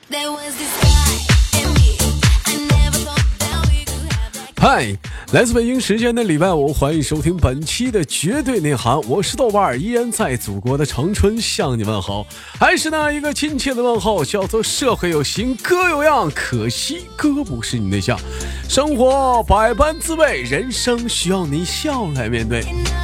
嗨，来自北京时间的礼拜五，欢迎收听本期的绝对内涵，我是豆瓣儿，依然在祖国的长春向你问好，还是那一个亲切的问候，叫做社会有形哥有样，可惜哥不是你对象。生活百般滋味，人生需要你笑来面对。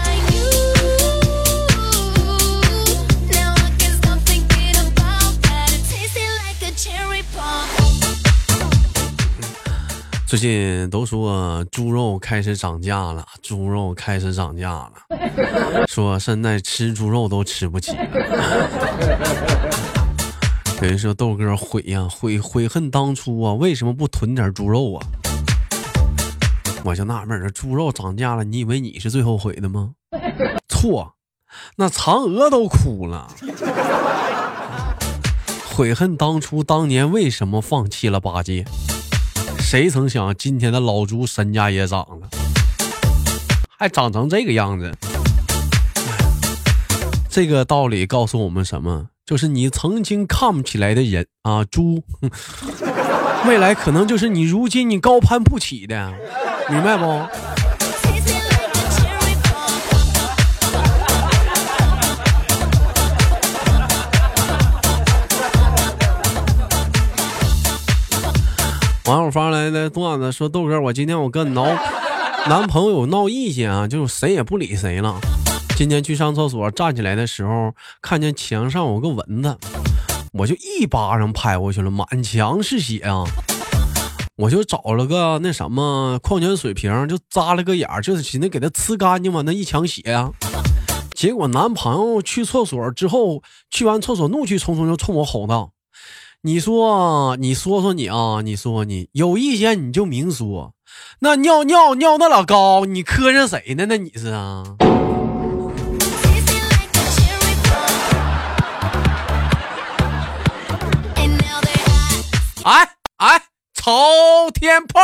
最近都说猪肉开始涨价了，猪肉开始涨价了，说现在吃猪肉都吃不起了。有人说豆哥悔呀，悔恨当初啊，为什么不囤点猪肉啊？我就纳闷了，猪肉涨价了，你以为你是最后悔的吗？错，那嫦娥都哭了。悔恨当初，当年为什么放弃了八戒？谁曾想今天的老猪身价也涨了，还长成这个样子。这个道理告诉我们什么？就是你曾经看不起来的人啊，猪，未来可能就是你如今你高攀不起的，明白不？网友发来的段子说，豆哥，我今天我跟男朋友闹意见啊，就是谁也不理谁了。今天去上厕所，站起来的时候看见墙上有个蚊子，我就一巴掌拍过去了，满墙是血啊！我就找了个那什么矿泉水瓶，就扎了个眼儿，就是寻思给它呲干净嘛，那一墙血啊！结果男朋友去厕所之后，去完厕所怒气冲冲就冲我吼道：“你说你啊，你说你有意见你就明说，那尿那老高，你磕碜谁呢？那你是啊？”哎，朝天炮！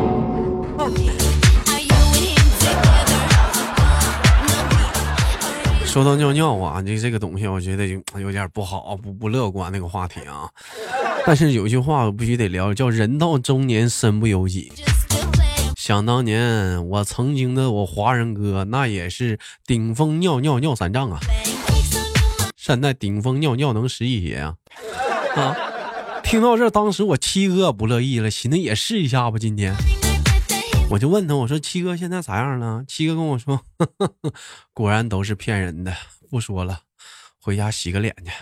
说到尿啊，这个东西我觉得有点不好，不乐观那个话题啊。但是有一句话我必须得聊，叫人到中年身不由己。想当年我曾经的我华人哥，那也是顶峰尿3丈啊。现在顶峰尿能11节啊！听到这，当时我七哥不乐意了，寻思也试一下吧。今天我就问他，我说七哥现在咋样了？七哥跟我说，呵呵，果然都是骗人的，不说了，回家洗个脸去。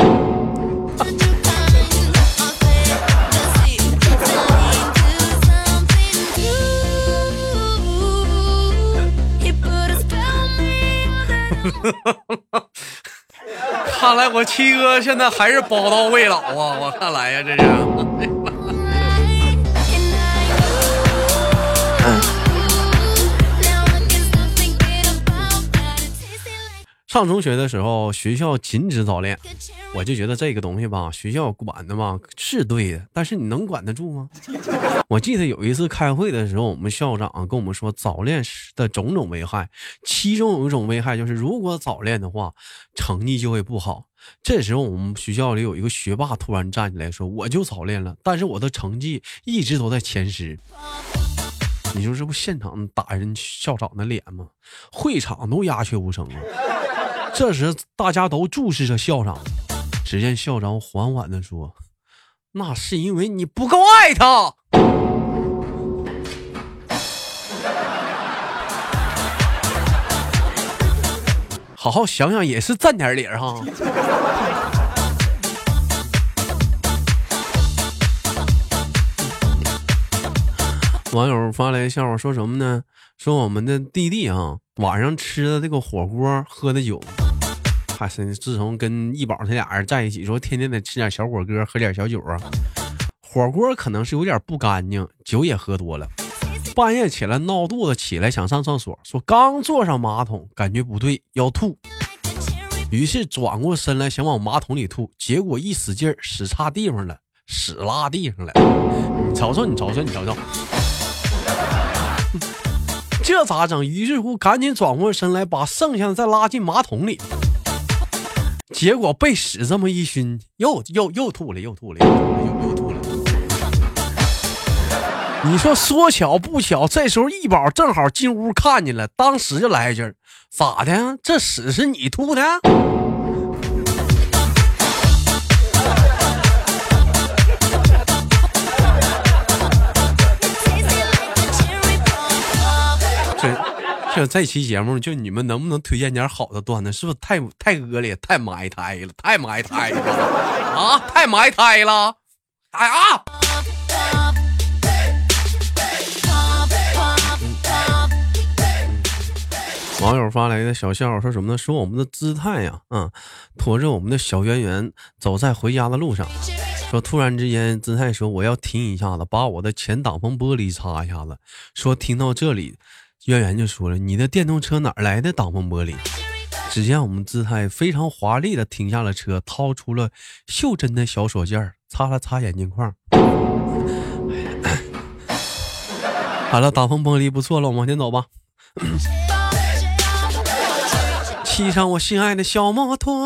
看来我七哥现在还是宝刀未老啊！我看来呀，这是。上中学的时候，学校禁止早恋，我就觉得这个东西吧，学校管的吧是对的，但是你能管得住吗？我记得有一次开会的时候，我们校长跟我们说早恋的种种危害，其中有一种危害就是如果早恋的话，成绩就会不好。这时候我们学校里有一个学霸突然站起来说，我就早恋了，但是我的成绩一直都在前10。你说这不现场打人校长的脸吗？会场都鸦雀无声了。这时大家都注视着校长，只见校长缓缓地说，那是因为你不够爱他。好好想想也是占点理哈。网友发来笑话，说什么呢？说我们的弟弟啊，晚上吃的这个火锅，喝的酒，还是自从跟一宝他俩人在一起，说天天得吃点小火锅，喝点小酒啊。火锅可能是有点不干净，酒也喝多了，半夜起来闹肚子，起来想上厕所，说刚坐上马桶，感觉不对，要吐，于是转过身来想往马桶里吐，结果一使劲使差地方了，屎拉地上了。你瞅瞅，这咋整？于是乎赶紧转过身来，把剩下的再拉进马桶里。 结果被屎这么一熏，又吐了，又吐了。你说说巧不巧，这时候一宝正好进屋看见了，当时就来一句：“咋的？这屎是你吐的？”这期节目就你们能不能推荐点好的段子？是不是太恶劣、太埋汰了？太埋汰了啊！太埋汰了！哎啊！网友发来的小笑话说什么呢？说我们的姿态呀，驮着我们的小圆圆走在回家的路上，说突然之间姿态说我要停一下子，把我的前挡风玻璃擦一下子。说听到这里，圆圆就说了：“你的电动车哪来的挡风玻璃？”只见我们姿态非常华丽的停下了车，掏出了袖珍的小手绢，擦了擦眼镜框。好了，挡风玻璃不错了，我们往前走吧。骑上我心爱的小摩托。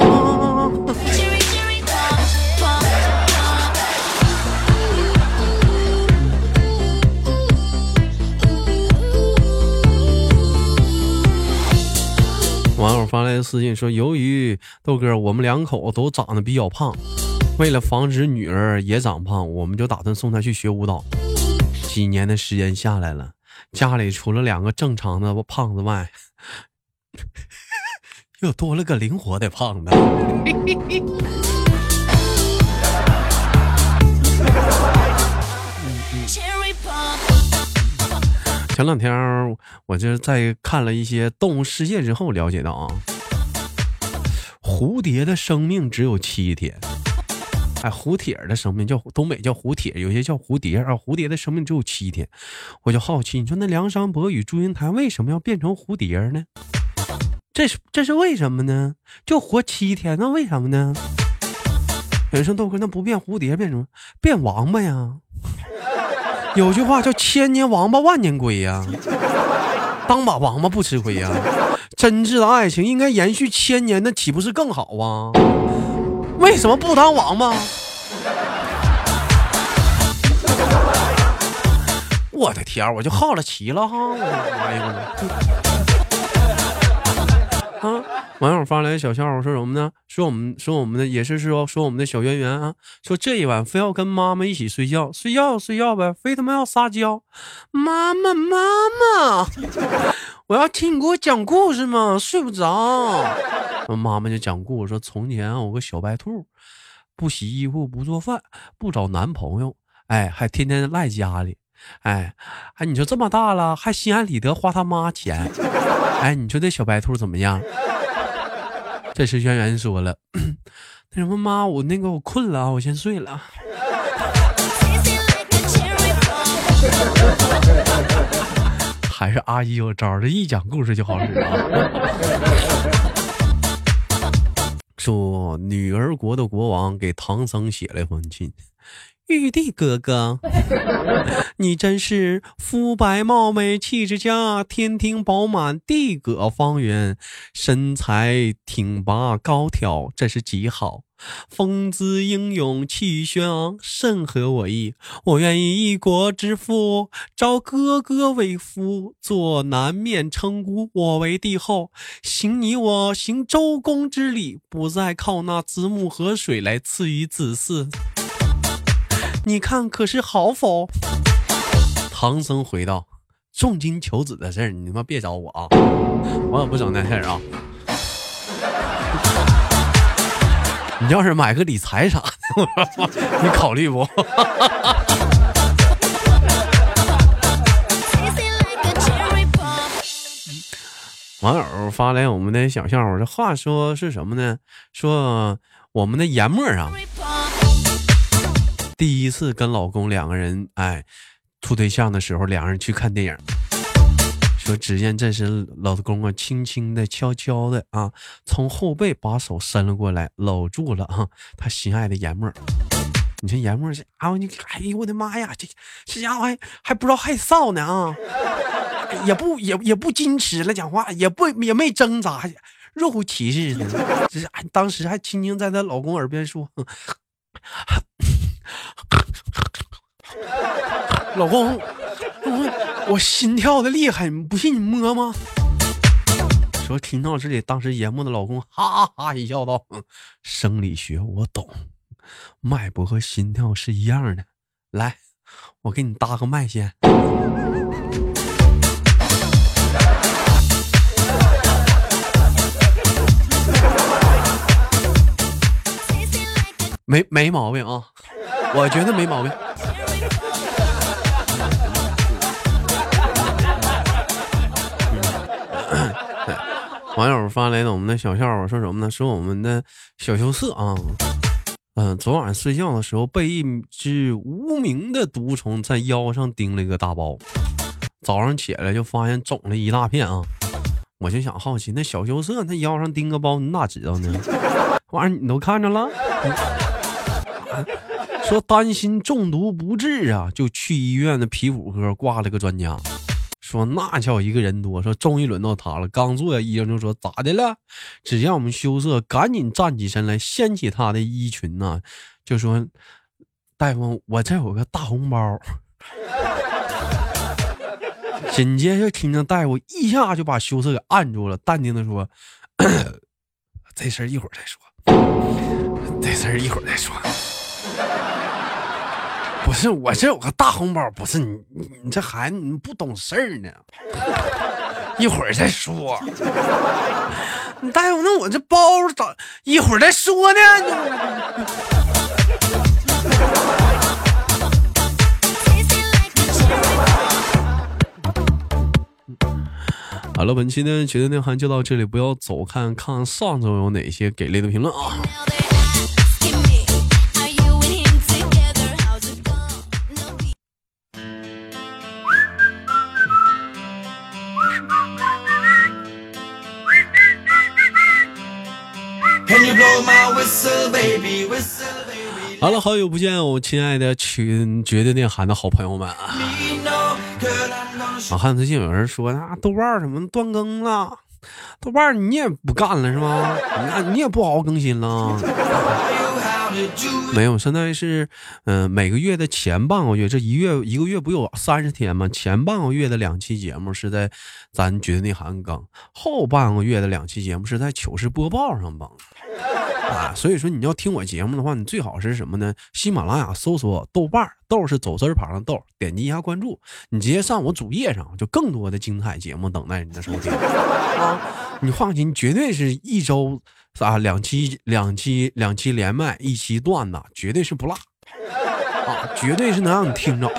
网友发来的私信说，由于豆哥我们两口都长得比较胖，为了防止女儿也长胖，我们就打算送她去学舞蹈。几年的时间下来了，家里除了2个正常的胖子外，又多了个灵活的胖子。前两天我就在看了一些动物世界之后了解到啊，蝴蝶的生命只有7天。蝴蝶的生命叫东北叫蝴蝶，有些叫蝴蝶啊。蝴蝶的生命只有7天，我就好奇，你说那梁山伯与祝英台为什么要变成蝴蝶呢？这是为什么呢？就活7天，那为什么呢？有人说豆哥，那不变蝴蝶变什么？变王八呀！有句话叫千年王八万年龟呀，当把王八不吃亏呀。真挚的爱情应该延续1000年，那岂不是更好啊？为什么不当王八？我的天，我就好了奇了哈！网友发来小笑话说什么呢？说我们的也是说我们的小圆圆啊，说这一晚非要跟妈妈一起睡觉呗，非他妈要撒娇。妈妈，我要听你给我讲故事嘛，睡不着。妈妈就讲故事说，从前有个小白兔，不洗衣服，不做饭，不找男朋友，还天天赖家里。你说这么大了，还心安理得花他妈钱。你说这小白兔怎么样？这时圆圆说了，那什么妈，我困了，我先睡了。还是阿姨有招，这一讲故事就好使啊。说女儿国的国王给唐僧写了一封信，玉帝哥哥，你真是肤白貌美，气质佳，天庭饱满，地阁方圆，身材挺拔高挑，这是极好。风姿英勇，气宇轩昂，甚合我意。我愿意一国之父，招哥哥为夫，做南面称孤，我为帝后，行你我行周公之礼，不再靠那子母河水来赐予子嗣。你看可是好否？唐僧回道，重金求子的事儿你他妈别找我啊，我也不整那事儿啊。你要是买个理财啥的，你考虑不？网友发来我们的小笑话，这话说是什么呢？说我们的研墨啊，第一次跟老公2个人处对象的时候，2人去看电影。说只见这时老公轻轻的悄悄的从后背把手伸了过来，搂住了他心爱的研墨。你说研墨是哎呦我的妈呀，这家伙还不知道害臊呢也不矜持了，讲话也没挣扎， 肉骑士呢。当时还轻轻在她老公耳边说：“老公，我心跳的厉害，不信你摸吗？”说听到这里，当时严木的老公哈哈一笑道：“生理学我懂，脉搏和心跳是一样的。来，我给你搭个脉线。”没毛病啊，我觉得没毛病。网友发来了我们的小笑话，说什么呢？说我们的小羞涩啊，昨晚睡觉的时候被一只无名的毒虫在腰上叮了一个大包，早上起来就发现肿了一大片啊。我就想好奇，那小羞涩那腰上叮个包，你哪知道呢？玩意儿你都看着了。说担心中毒不治啊，就去医院的皮肤科挂了个专家。说那叫一个人多，说终于轮到他了。刚坐下，医生就说咋的了？只见我们羞涩赶紧站起身来，掀起他的衣裙呐，就说大夫，我这有个大红包。紧接着听着大夫一下就把羞涩给按住了，淡定的说：“这事儿一会儿再说，这事儿一会儿再说。”不是我这有个大红包，不是你这孩子你不懂事儿呢，一会儿再说。你大夫，那我这包咋一会儿再说呢？好了，本期呢绝对内涵就到这里，不要走看看上周有哪些给力的评论啊。好了，好久不见，我亲爱的绝对内涵的好朋友们啊！我看最近有人说啊，豆瓣什么断更了，豆瓣你也不干了是吗？你也不好好更新了。没有，现在是每个月的前半个月，这一个月不有30天吗？前半个月的2期节目是在咱绝对内涵更，后半个月的2期节目是在糗事播报上更啊。所以说你要听我节目的话，你最好是什么呢？喜马拉雅搜索豆瓣，豆是走字旁的豆，点击一下关注，你直接上我主页上，就更多的精彩节目等待你的收听啊！你放心，绝对是一周两期连麦，1期段子，绝对是不落啊，绝对是能让你听着。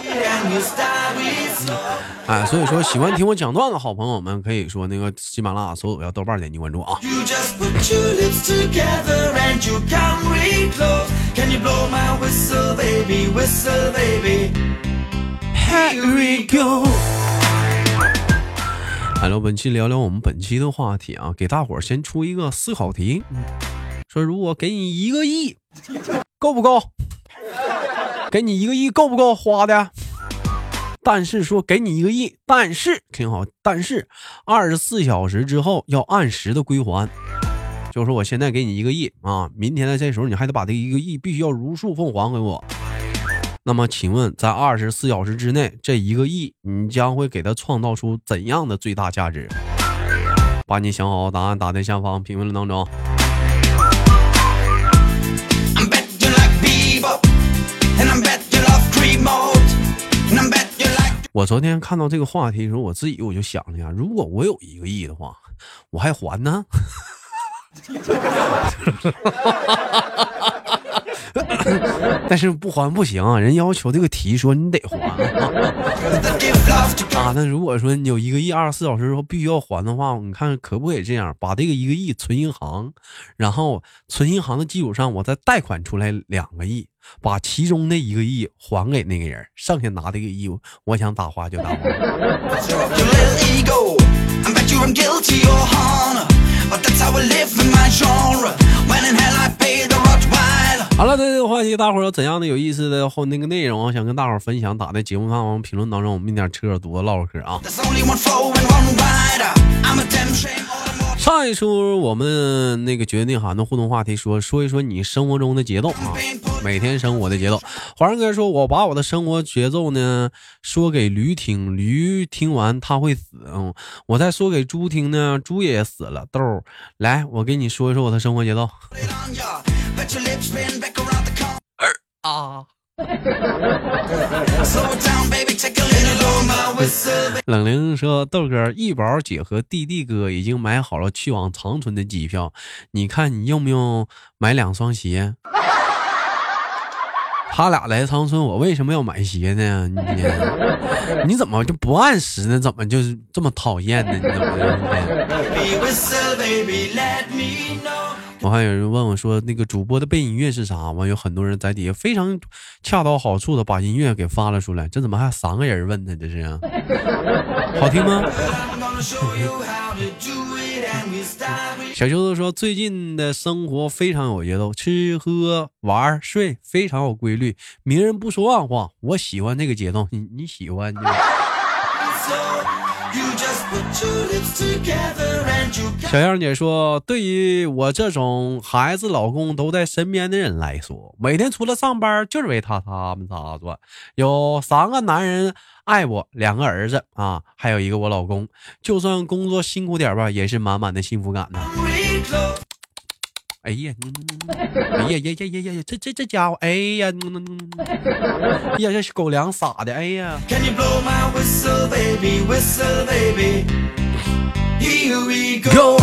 所以说喜欢听我讲段的好朋友们，可以说那个喜马拉雅搜索要豆瓣，点击关注啊。好了，本期聊聊我们本期的话题啊，给大伙儿先出一个思考题，说如果给你1个亿，够不够？给你1个亿够不够花的？但是说给你1个亿，但是挺好，但是24小时之后要按时的归还。就是说我现在给你1个亿啊，明天的这时候你还得把这1个亿必须要如数奉还给我。那么请问在24小时之内，这1个亿你将会给他创造出怎样的最大价值？把你想好答案打在下方评论当中。我昨天看到这个话题的时候，我就想了呀，如果我有1个亿的话，我还还呢？但是不还不行啊，人要求这个题说你得还啊。那如果说你有1个亿，24小时之后必须要还的话，你看可不可以这样，把这个1个亿存银行，然后存银行的基础上，我再贷款出来2个亿，把其中的1个亿还给那个人，剩下拿这个亿，我想打花就打花。好了，这个话题大伙儿有怎样的有意思的后那个内容想跟大伙儿分享，打在节目下方评论当中，我们一点扯犊子唠唠嗑啊。 上一出我们那个决定哈，那互动话题说一说你生活中的节奏啊，每天生活的节奏。华人哥说，我把我的生活节奏呢说给驴听，驴听完它会死。我再说给猪听呢，猪也死了。豆儿，来，我给你说一说我的生活节奏。冷玲说，豆哥，一宝姐和弟弟哥已经买好了去往长春的机票，你看你用不用买2双鞋？他俩来长春，我为什么要买鞋呢？你怎么就不按时呢？怎么就是这么讨厌呢？你怎么的？我还有人问我说，那个主播的背音乐是啥吗？有很多人在底下非常恰到好处的把音乐给发了出来，这怎么还3个人问呢？这是好听吗？小秋子说，最近的生活非常有节奏，吃喝玩睡非常有规律，明人不说暗话，我喜欢这个节奏，你喜欢就小样姐说，对于我这种孩子老公都在身边的人来说，每天除了上班就是为他们仨做，有3个男人爱我，2个儿子啊，还有1个我老公，就算工作辛苦点吧，也是满满的幸福感呢。哎呀，这家伙，哎呀，呀，这狗粮撒的，哎呀。Here we go.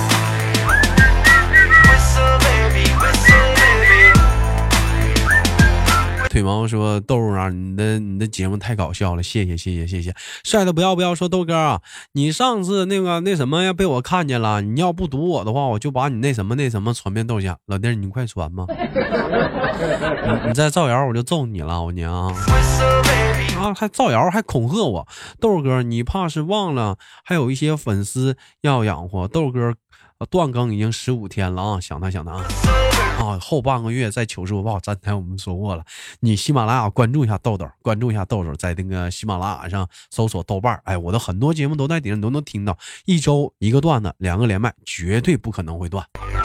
腿毛说，豆啊，你的节目太搞笑了，谢谢。帅的不要说，豆哥啊，你上次那什么呀，被我看见了，你要不读我的话，我就把你那什么传遍豆家。老弟，你快传吧。你再造谣我就揍你了，我娘啊，还造谣还恐吓我。豆哥，你怕是忘了还有一些粉丝要养活。豆哥断更已经15天了啊，想他啊，后半个月在糗事播报。刚才我们说过了，你喜马拉雅关注一下豆豆，在那个喜马拉雅上搜索豆瓣，哎，我的很多节目都在顶上都能听到，一周1个段子，2个连麦，绝对不可能会断。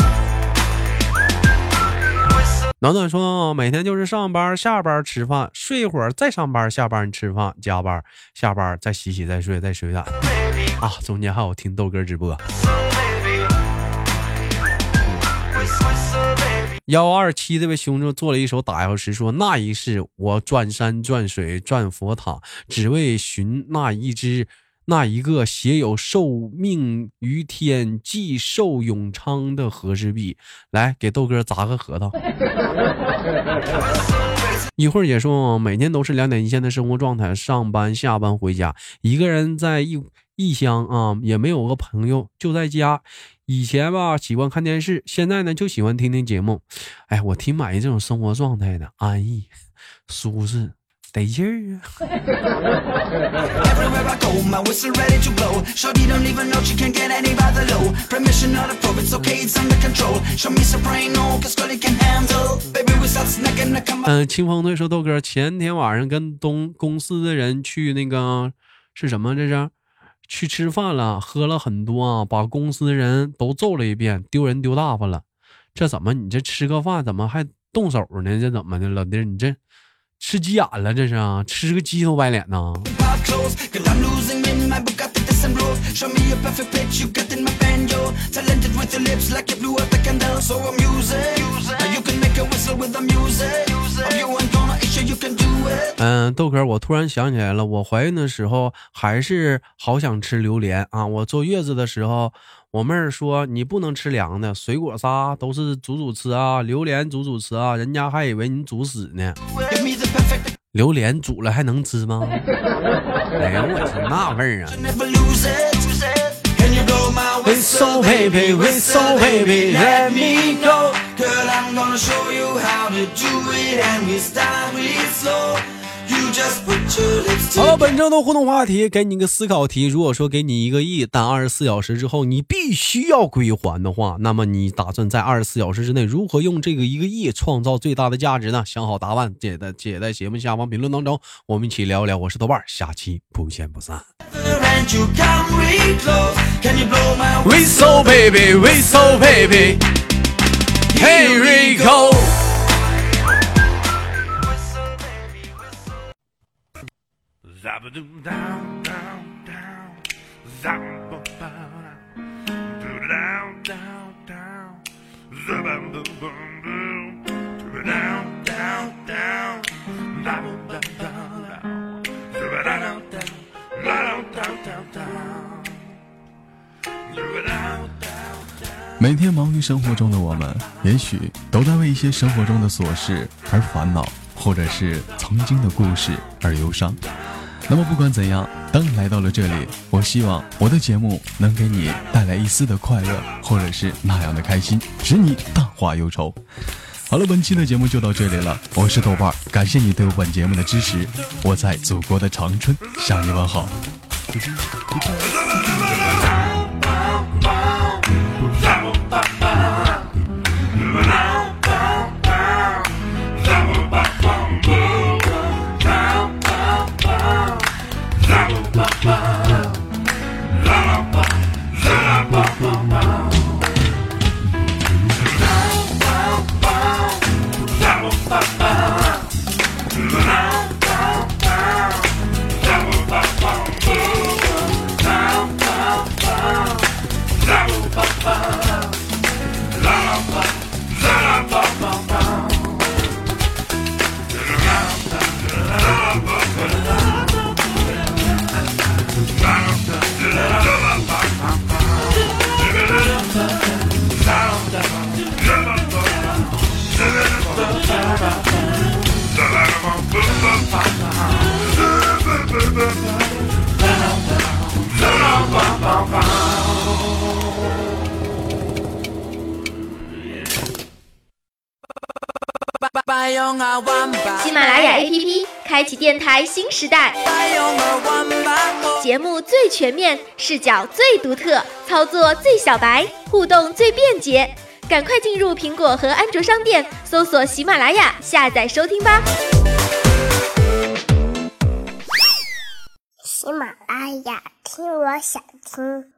暖暖说，每天就是上班下班吃饭睡一会儿，再上班下班吃饭加班下班再洗再睡啊，中间还有听豆哥直播。127这位兄弟做了一首打油诗，说，那一世我转山转水转佛塔，只为寻那一个写有寿命于天既寿永昌的和氏璧。来给豆哥砸个核桃。一会儿也说，每天都是2点一线的生活状态，上班下班回家，一个人在异乡啊，也没有个朋友，就在家。以前吧喜欢看电视，现在呢就喜欢听听节目。哎，我挺满意这种生活状态的，安逸舒适得劲儿啊。清风队说，豆哥，前天晚上跟公司的人去那个是什么，这是去吃饭了，喝了很多啊，把公司的人都揍了一遍，丢人丢大发了。这怎么你这吃个饭怎么还动手呢？这怎么的，老弟你这吃急眼了，这是啊，吃个鸡头白脸呢。豆哥，我突然想起来了，我怀孕的时候还是好想吃榴莲啊。我坐月子的时候，我妹儿说你不能吃凉的，水果啥都是煮吃啊，榴莲煮吃啊，人家还以为你煮死呢。榴莲煮了还能吃吗？哎呀，我是那味儿啊。Whistle baby, whistle baby, let me go. Girl, I'm gonna show you how to do it, and we start with slow. 好了，本周的互动话题给你一个思考题，如果说给你1个亿，但24小时之后你必须要归还的话，那么你打算在24小时之内如何用这个1个亿创造最大的价值呢？想好答案写在节目下方评论当中，我们一起聊一聊。我是豆瓣，下期不见不散。Whistle baby, whistle baby, here we go. Zabadoom down, down, down, zababoom down, down, down, zababoom boom, down, down, down, zababoom down, zabadoom down, down, down, down, down. 每天忙于生活中的我们，也许都在为一些生活中的琐事而烦恼，或者是曾经的故事而忧伤。那么不管怎样，当你来到了这里，我希望我的节目能给你带来一丝的快乐，或者是那样的开心，使你淡化忧愁。好了，本期的节目就到这里了，我是豆瓣，感谢你对本节目的支持，我在祖国的长春向你问好。 喜马拉雅 APP 开启电台新时代，节目最全面，视角最独特，操作最小白，互动最便捷，赶快进入苹果和安卓商店搜索喜马拉雅，下载收听吧。 喜马拉雅，听我想听。